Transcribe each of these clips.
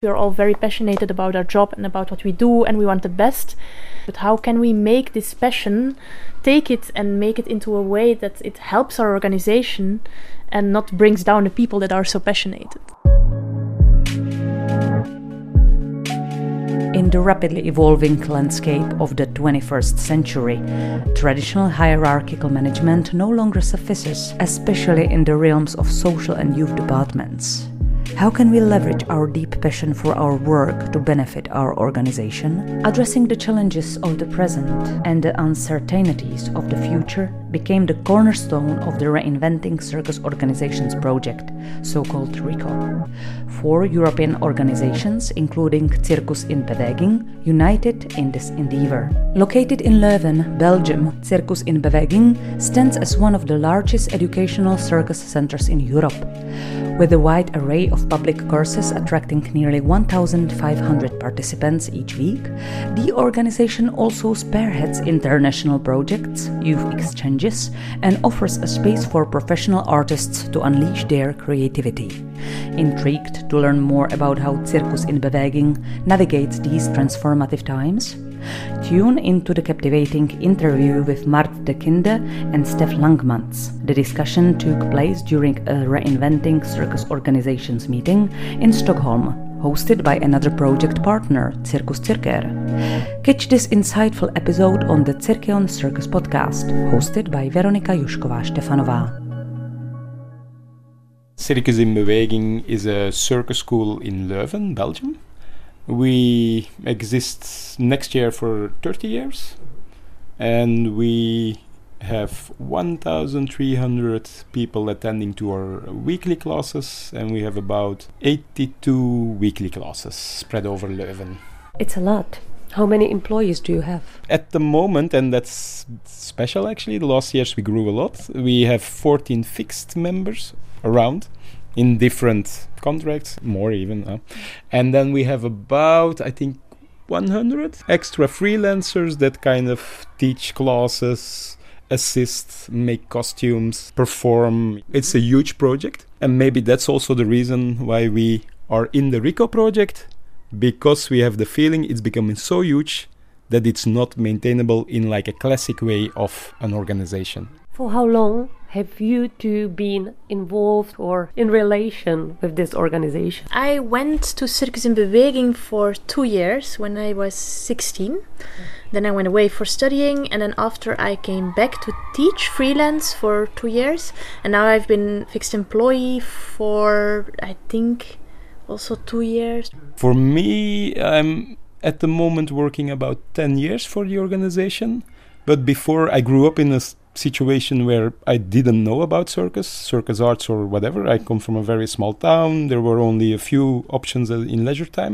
We're all very passionate about our job and about what we do, and we want the best. But how can we make this passion, take it and make it into a way that it helps our organization and not brings down the people that are so passionate? In the rapidly evolving landscape of the 21st century, traditional hierarchical management no longer suffices, especially in the realms of social and youth departments. How can we leverage our deep passion for our work to benefit our organization? Addressing the challenges of the present and the uncertainties of the future became the cornerstone of the Reinventing Circus Organizations project, so-called RICO. 4 European organizations, including Circus in Beweging, united in this endeavor. Located in Leuven, Belgium, Circus in Beweging stands as one of the largest educational circus centers in Europe. With a wide array of public courses attracting nearly 1,500 participants each week, the organization also spearheads international projects, youth exchanges, and offers a space for professional artists to unleash their creativity. Intrigued to learn more about how Circus in Beweging navigates these transformative times? Tune into the captivating interview with Mart de Kinde and Stef Langmans. The discussion took place during a Reinventing Circus Organizations meeting in Stockholm, hosted by another project partner, Circus Circer. Catch this insightful episode on the Circeon Circus podcast, hosted by Veronika Jušková-Štefanová. Circus in Beweging is a circus school in Leuven, Belgium. We exist next year for 30 years, and we have 1,300 people attending to our weekly classes, and we have about 82 weekly classes spread over Leuven. It's a lot. How many employees do you have? At the moment, and that's special actually, the last years we grew a lot. We have 14 fixed members around in different contracts, more even. And then we have about, I think, 100 extra freelancers that kind of teach classes, assist, make costumes, perform. It's a huge project. And maybe that's also the reason why we are in the RICO project, because we have the feeling it's becoming so huge that it's not maintainable in like a classic way of an organization. For how long have you two been involved or in relation with this organization? I went to Circus in Beweging for 2 years when I was 16. Then I went away for studying, and then after I came back to teach freelance for 2 years. And now I've been fixed employee for, I think, also 2 years. For me, I'm at the moment working about 10 years for the organization. But before, I grew up in a situation where I didn't know about circus arts or whatever. I come from a very small town. There were only a few options in leisure time.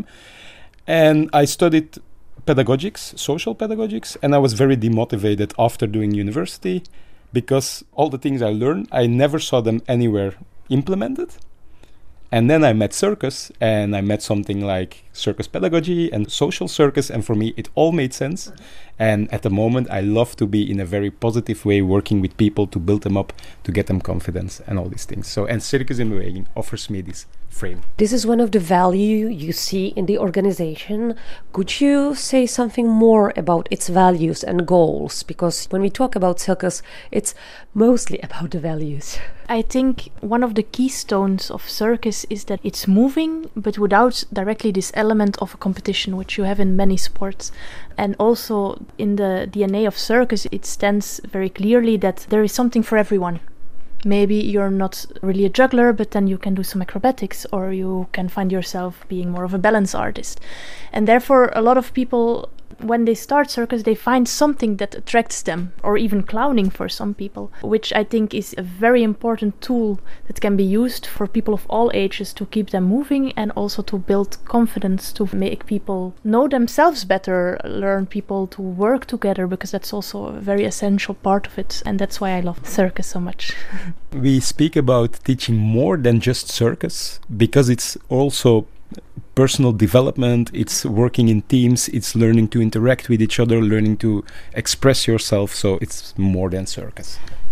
And I studied pedagogics, social pedagogics, and I was very demotivated after doing university because all the things I learned, I never saw them anywhere implemented. And then I met circus, and I met something like circus pedagogy and social circus, and for me it all made sense. And at the moment I love to be in a very positive way working with people to build them up, to get them confidence and all these things. So, and Circus in Beweging offers me this frame. This is one of the value you see in the organization. Could you say something more about its values and goals? Because when we talk about circus, it's mostly about the values. I think one of the keystones of circus is that it's moving, but without directly this element of a competition, which you have in many sports. And also in the DNA of circus, it stands very clearly that there is something for everyone. Maybe you're not really a juggler, but then you can do some acrobatics, or you can find yourself being more of a balance artist. And therefore, a lot of people, when they start circus, they find something that attracts them, or even clowning for some people, which I think is a very important tool that can be used for people of all ages to keep them moving and also to build confidence, to make people know themselves better, learn people to work together, because that's also a very essential part of it. And that's why I love circus so much. We speak about teaching more than just circus, because it's also personal development, it's working in teams, it's learning to interact with each other, learning to express yourself, so it's more than circus.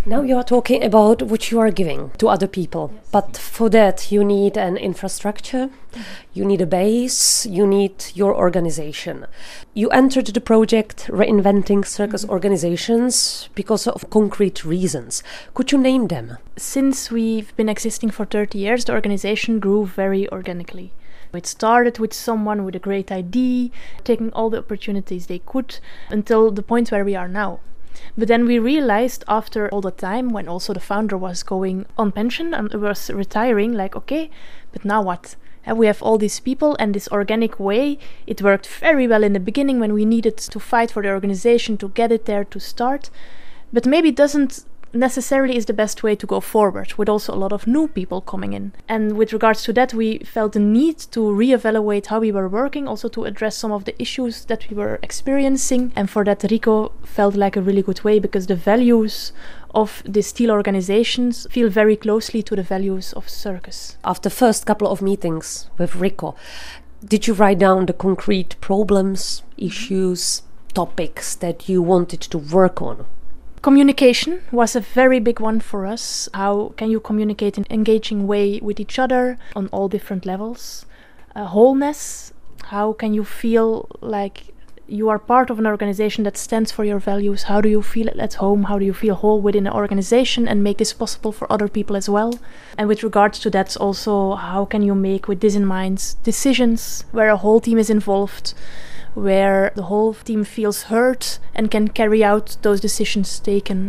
Now you are talking about what you are giving to other people, but for that you need an infrastructure, you need a base, you need your organization. You entered the project Reinventing Circus Organizations because of concrete reasons. Could you name them? Since we've been existing for 30 years, the organization grew very organically. It started with someone with a great idea, taking all the opportunities they could, until the point where we are now. But then we realized after all the time, when also the founder was going on pension and was retiring, like, okay, but now what? And we have all these people, and this organic way, it worked very well in the beginning when we needed to fight for the organization to get it there to start. But maybe it doesn't necessarily is the best way to go forward, with also a lot of new people coming in. And with regards to that, we felt the need to reevaluate how we were working, also to address some of the issues that we were experiencing. And for that, Rico felt like a really good way, because the values of the steel organizations feel very closely to the values of circus. After the first couple of meetings with Rico, did you write down the concrete problems, issues, topics that you wanted to work on? Communication was a very big one for us. How can you communicate in an engaging way with each other on all different levels? Wholeness. How can you feel like you are part of an organization that stands for your values? How do you feel at home? How do you feel whole within an organization and make this possible for other people as well? And with regards to that also, how can you make, with this in mind, decisions where a whole team is involved, where the whole team feels heard and can carry out those decisions taken.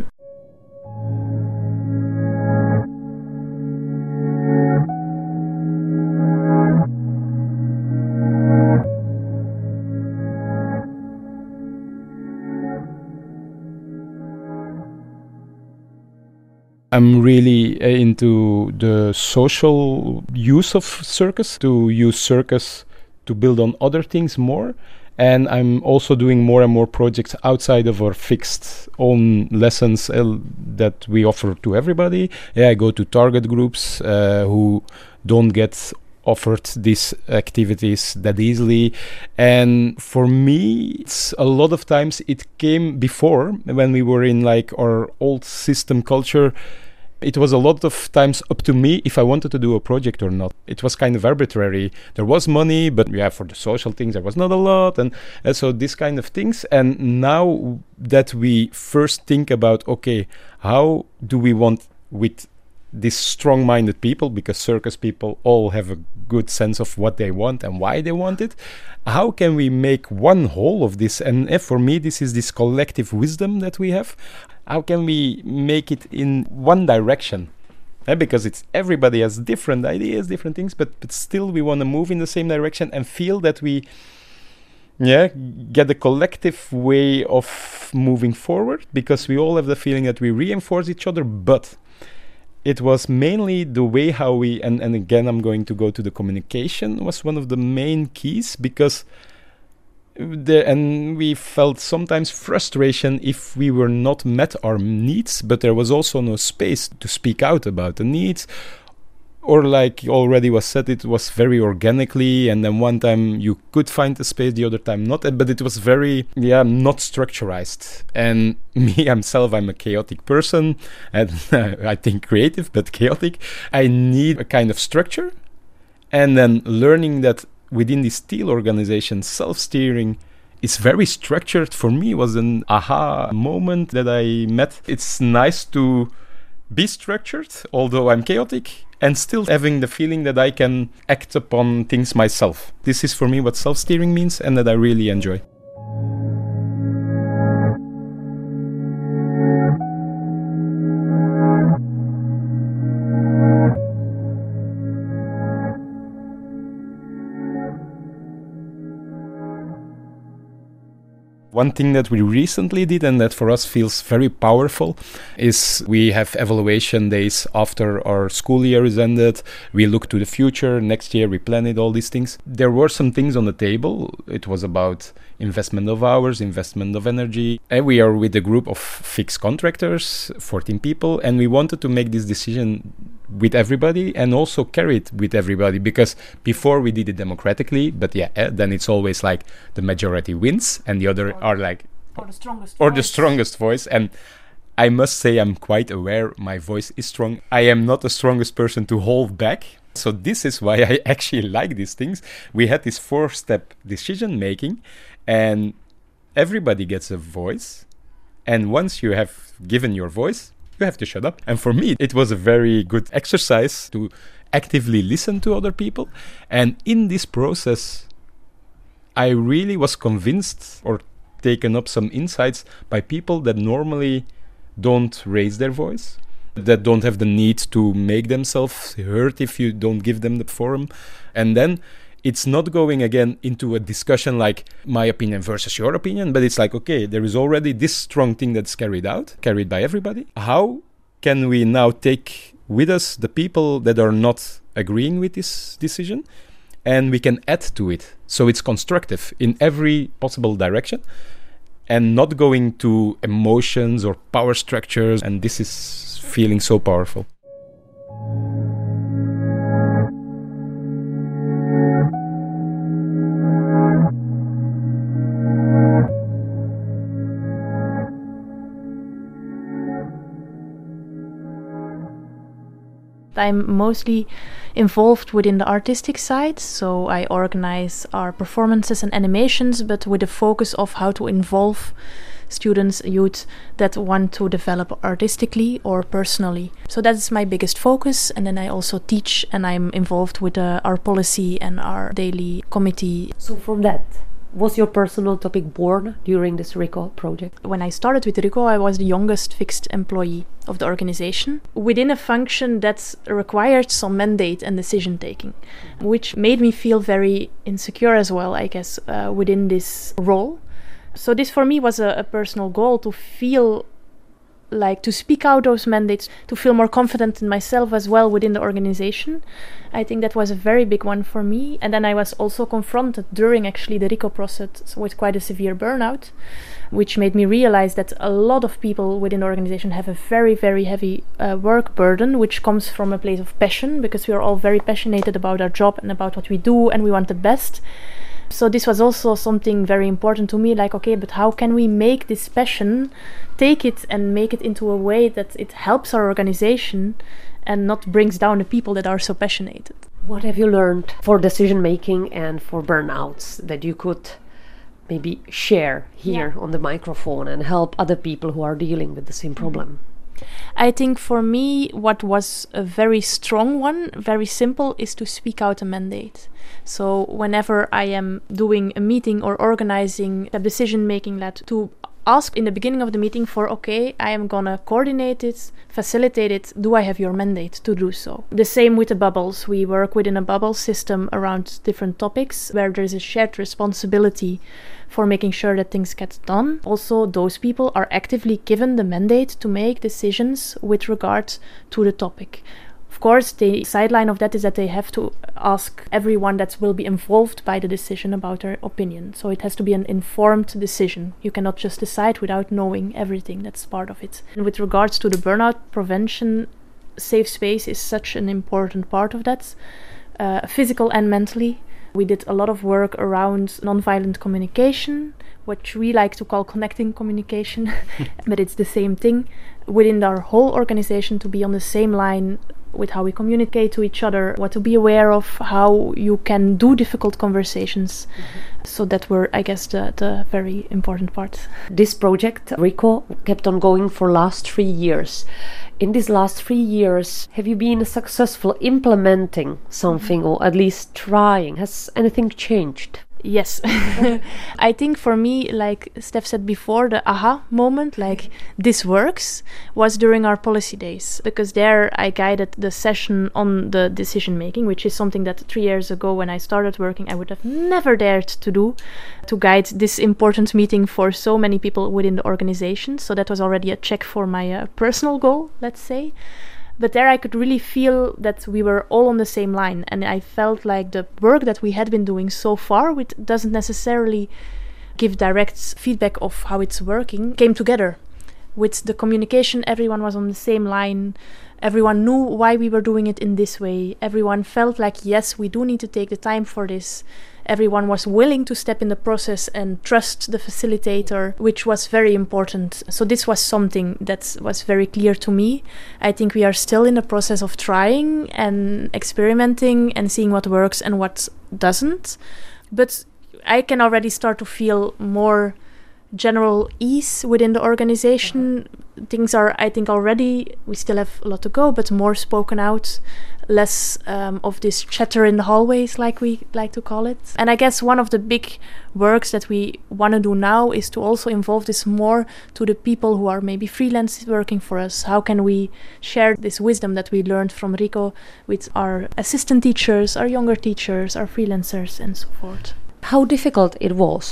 I'm really into the social use of circus, to use circus to build on other things more. And I'm also doing more and more projects outside of our fixed own lessons that we offer to everybody. I go to target groups who don't get offered these activities that easily. And for me, it's a lot of times it came before, when we were in like our old system culture. It was a lot of times up to me if I wanted to do a project or not. It was kind of arbitrary. There was money, but for the social things there was not a lot, and so this kind of things. And now that we first think about, okay, how do we want with these strong-minded people, because circus people all have a good sense of what they want and why they want it, how can we make one whole of this? And for me, this is this collective wisdom that we have. How can we make it in one direction? Because it's everybody has different ideas, different things, but still we want to move in the same direction and feel that we get a collective way of moving forward, because we all have the feeling that we reinforce each other. But it was mainly the way how we, and again I'm going to go to the communication, was one of the main keys, because and we felt sometimes frustration if we were not met our needs, but there was also no space to speak out about the needs. Or like already was said, it was very organically, and then one time you could find a space, the other time not, but it was very, not structurized. And me, myself, I'm a chaotic person, and I think creative, but chaotic. I need a kind of structure, and then learning that within this steel organization, self-steering is very structured, for me was an aha moment that I met. It's nice to be structured, although I'm chaotic, and still having the feeling that I can act upon things myself. This is for me what self-steering means, and that I really enjoy. One thing that we recently did, and that for us feels very powerful, is we have evaluation days after our school year is ended. We look to the future. Next year we plan it, all these things. There were some things on the table. It was about investment of hours, investment of energy. And we are with a group of fixed contractors, 14 people, and we wanted to make this decision with everybody and also carry it with everybody, because before we did it democratically, but then it's always like the majority wins and the other are like or the strongest voice. And I must say I'm quite aware my voice is strong. I am not the strongest person to hold back. So this is why I actually like these things. We had this 4-step decision making, and everybody gets a voice. And once you have given your voice, you have to shut up. And for me, it was a very good exercise to actively listen to other people. And in this process, I really was convinced or taken up some insights by people that normally don't raise their voice, that don't have the need to make themselves heard if you don't give them the forum. And then it's not going again into a discussion like my opinion versus your opinion, but it's like, okay, there is already this strong thing that's carried by everybody. How can we now take with us the people that are not agreeing with this decision, and we can add to it so it's constructive in every possible direction and not going to emotions or power structures. And this is feeling so powerful. I'm mostly involved within the artistic side, so I organize our performances and animations, but with the focus of how to involve students, youth that want to develop artistically or personally. So that's my biggest focus, and then I also teach, and I'm involved with our policy and our daily committee. So from that, was your personal topic born during this RICO project? When I started with RICO, I was the youngest fixed employee of the organization within a function that required some mandate and decision taking, which made me feel very insecure as well, I guess, within this role. So this for me was a personal goal, to feel like to speak out those mandates, to feel more confident in myself as well within the organization. I think that was a very big one for me. And then I was also confronted during actually the RICO process with quite a severe burnout, which made me realize that a lot of people within the organization have a very, very heavy work burden, which comes from a place of passion, because we are all very passionate about our job and about what we do, and we want the best. So this was also something very important to me, like, okay, but how can we make this passion, take it and make it into a way that it helps our organization and not brings down the people that are so passionate. What have you learned for decision making and for burnouts that you could maybe share here on the microphone and help other people who are dealing with the same problem? I think for me, what was a very strong one, very simple, is to speak out a mandate. So whenever I am doing a meeting or organizing a decision making, to ask in the beginning of the meeting for, okay, I am gonna coordinate it, facilitate it, do I have your mandate to do so? The same with the bubbles. We work within a bubble system around different topics where there is a shared responsibility for making sure that things get done. Also, those people are actively given the mandate to make decisions with regard to the topic. Of course, the sideline of that is that they have to ask everyone that will be involved by the decision about their opinion. So it has to be an informed decision. You cannot just decide without knowing everything that's part of it. And with regards to the burnout prevention, safe space is such an important part of that, physical and mentally. We did a lot of work around nonviolent communication, which we like to call connecting communication, but it's the same thing within our whole organization, to be on the same line with how we communicate to each other, what to be aware of, how you can do difficult conversations. So that were, I guess, the very important part. This project, RICO, kept on going for last 3 years. In these last 3 years, have you been successful implementing something, or at least trying? Has anything changed? Yes. I think for me, like Steph said before, the aha moment, like this works, was during our policy days, because there I guided the session on the decision making, which is something that 3 years ago when I started working I would have never dared to do, to guide this important meeting for so many people within the organization. So that was already a check for my personal goal, let's say. But there I could really feel that we were all on the same line, and I felt like the work that we had been doing so far, which doesn't necessarily give direct feedback of how it's working, came together. With the communication, everyone was on the same line, everyone knew why we were doing it in this way, everyone felt like, yes, we do need to take the time for this, everyone was willing to step in the process and trust the facilitator, which was very important. So this was something that was very clear to me. I think we are still in the process of trying and experimenting and seeing what works and what doesn't. But I can already start to feel more general ease within the organization. Things are, I think, already, we still have a lot to go, but more spoken out, less of this chatter in the hallways, like we like to call it. And I guess one of the big works that we want to do now is to also involve this more to the people who are maybe freelance working for us. How can we share this wisdom that we learned from RICO with our assistant teachers, our younger teachers, our freelancers, and so forth? How difficult it was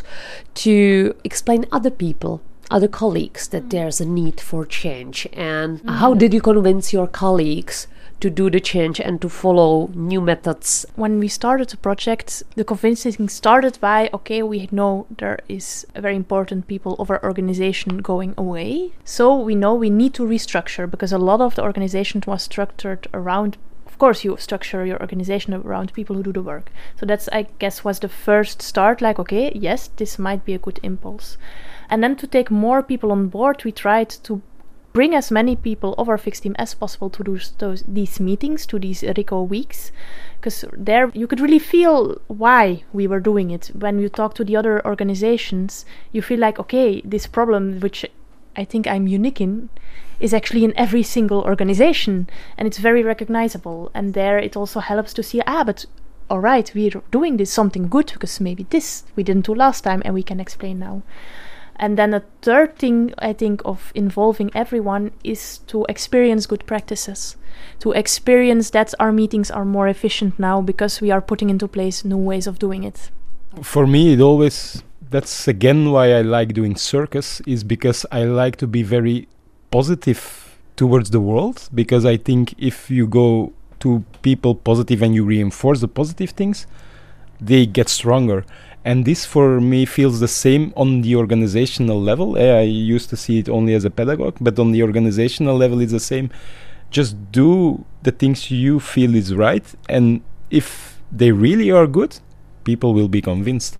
to explain other people, other colleagues, that there's a need for change, and how did you convince your colleagues to do the change and to follow new methods? When we started the project, the convincing started by, okay, we know there is a very important people of our organization going away, so we know we need to restructure, because a lot of the organization was structured around, of course, you structure your organization around people who do the work. So that's, I guess, was the first start, like, okay, yes, this might be a good impulse. And then to take more people on board, we tried to bring as many people of our fixed team as possible to these meetings, to these RICO weeks, because there you could really feel why we were doing it. When you talk to the other organizations, you feel like, okay, this problem, which I think I'm unique in, is actually in every single organization, and it's very recognizable. And there it also helps to see, but all right, we're doing this something good, because maybe this we didn't do last time and we can explain now. And then a third thing, I think, of involving everyone is to experience good practices, to experience that our meetings are more efficient now because we are putting into place new ways of doing it. For me, that's again why I like doing circus, is because I like to be very positive towards the world, because I think if you go to people positive and you reinforce the positive things, they get stronger. And this for me feels the same on the organizational level. I used to see it only as a pedagogue, but on the organizational level it's the same. Just do the things you feel is right, and if they really are good, people will be convinced.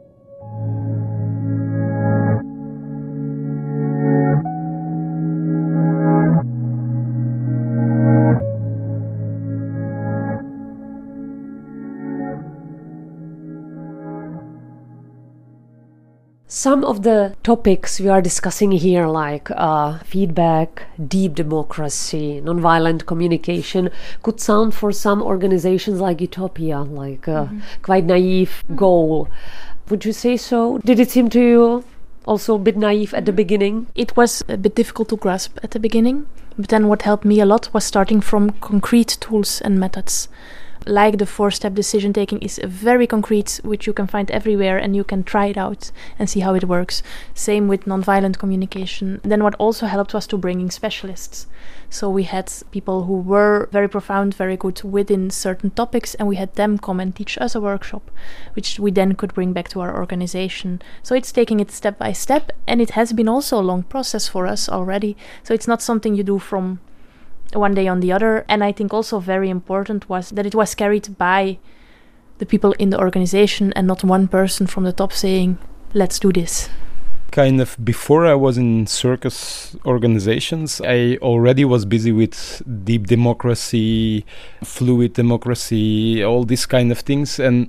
Some of the topics we are discussing here, like feedback, deep democracy, nonviolent communication, could sound for some organizations like utopia, like a quite naive goal. Would you say so? Did it seem to you also a bit naive at the beginning? It was a bit difficult to grasp at the beginning, but then what helped me a lot was starting from concrete tools and methods. Like the 4-step decision taking is very concrete, which you can find everywhere, and you can try it out and see how it works. Same with nonviolent communication. Then what also helped was to bring in specialists. So we had people who were very profound, very good within certain topics, and we had them come and teach us a workshop, which we then could bring back to our organization. So it's taking it step by step, and it has been also a long process for us already. So it's not something you do from one day on the other. And I think also very important was that it was carried by the people in the organization and not one person from the top saying, let's do this. Kind of before I was in circus organizations, I already was busy with deep democracy, fluid democracy, all these kind of things, and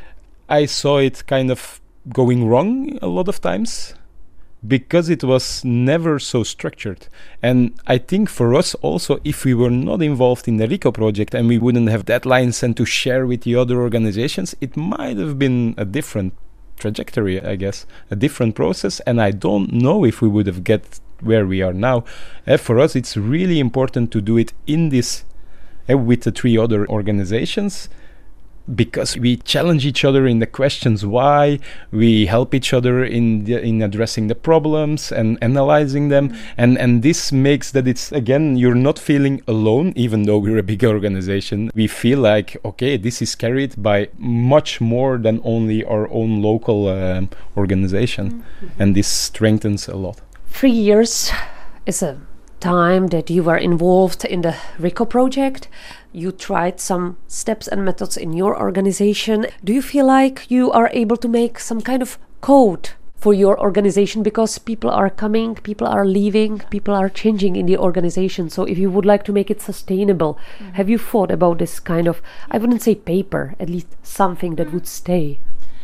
I saw it kind of going wrong a lot of times, because it was never so structured. And I think for us also, if we were not involved in the RICO project and we wouldn't have deadlines and to share with the other organizations, it might have been a different trajectory, I guess, a different process. And I don't know if we would have get where we are now. For us, it's really important to do it in this, with the 3 other organizations, because we challenge each other in the questions why, we help each other in addressing the problems and analyzing them, and this makes that it's, again, you're not feeling alone, even though we're a big organization. We feel like, okay, this is carried by much more than only our own local organization, and this strengthens a lot. 3 years is a time that you were involved in the RICO project, you tried some steps and methods in your organization. Do you feel like you are able to make some kind of code for your organization, because people are coming, people are leaving, people are changing in the organization? So if you would like to make it sustainable, have you thought about this kind of, I wouldn't say paper, at least something that would stay?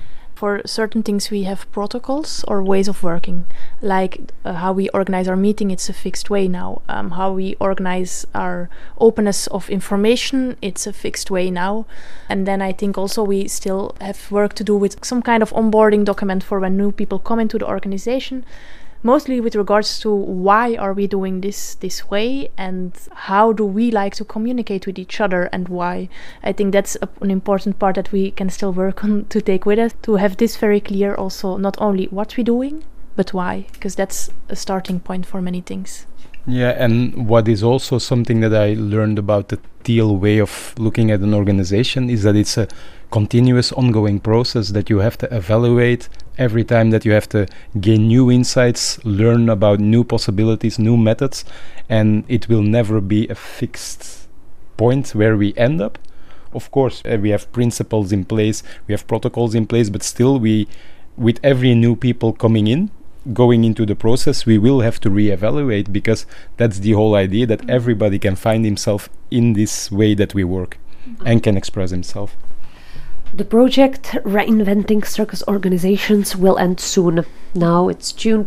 For certain things we have protocols or ways of working, like how we organize our meeting, it's a fixed way now. How we organize our openness of information, it's a fixed way now. And then I think also we still have work to do with some kind of onboarding document for when new people come into the organization, mostly with regards to why are we doing this way and how do we like to communicate with each other and why. I think that's an important part that we can still work on to take with us, to have this very clear also, not only what we're doing, but why, because that's a starting point for many things. Yeah, and what is also something that I learned about the Teal way of looking at an organization is that it's a continuous ongoing process that you have to evaluate every time, that you have to gain new insights, learn about new possibilities, new methods, and it will never be a fixed point where we end up. Of course, we have principles in place, we have protocols in place, but still with every new people coming in, going into the process, we will have to reevaluate, because that's the whole idea, that everybody can find himself in this way that we work and can express himself. The project Reinventing Circus Organizations will end soon. Now it's June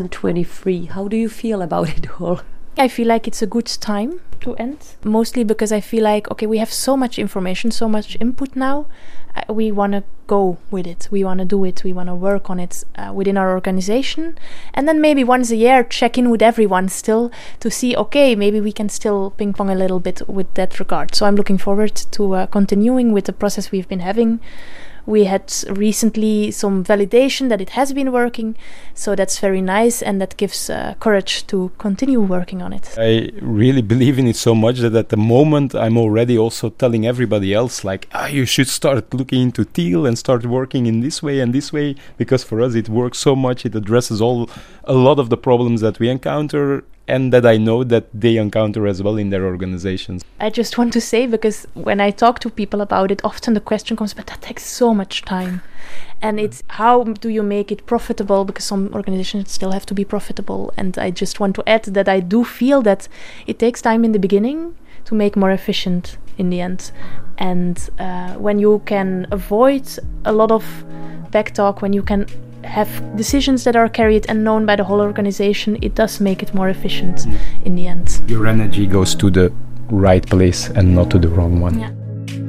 2023. How do you feel about it all? I feel like it's a good time to end, mostly because I feel like, okay, we have so much information, so much input now. We want to go with it, we want to do it, we want to work on it within our organization, and then maybe once a year check in with everyone still to see, okay, maybe we can still ping pong a little bit with that regard. So I'm looking forward to continuing with the process we've been having. We had recently some validation that it has been working, so that's very nice, and that gives courage to continue working on it. I really believe in it so much that at the moment I'm already also telling everybody else, like, you should start looking into Teal and start working in this way and this way, because for us it works so much, it addresses a lot of the problems that we encounter, and that I know that they encounter as well in their organizations. I just want to say, because when I talk to people about it, often the question comes, but that takes so much time. And it's, how do you make it profitable? Because some organizations still have to be profitable. And I just want to add that I do feel that it takes time in the beginning to make more efficient in the end. And when you can avoid a lot of backtalk, when you can have decisions that are carried and known by the whole organization, it does make it more efficient in the end. Your energy goes to the right place and not to the wrong one. Yeah.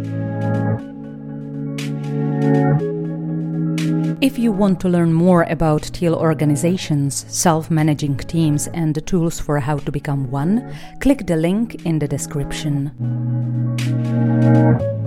If you want to learn more about Teal organizations, self-managing teams, and the tools for how to become one, click the link in the description.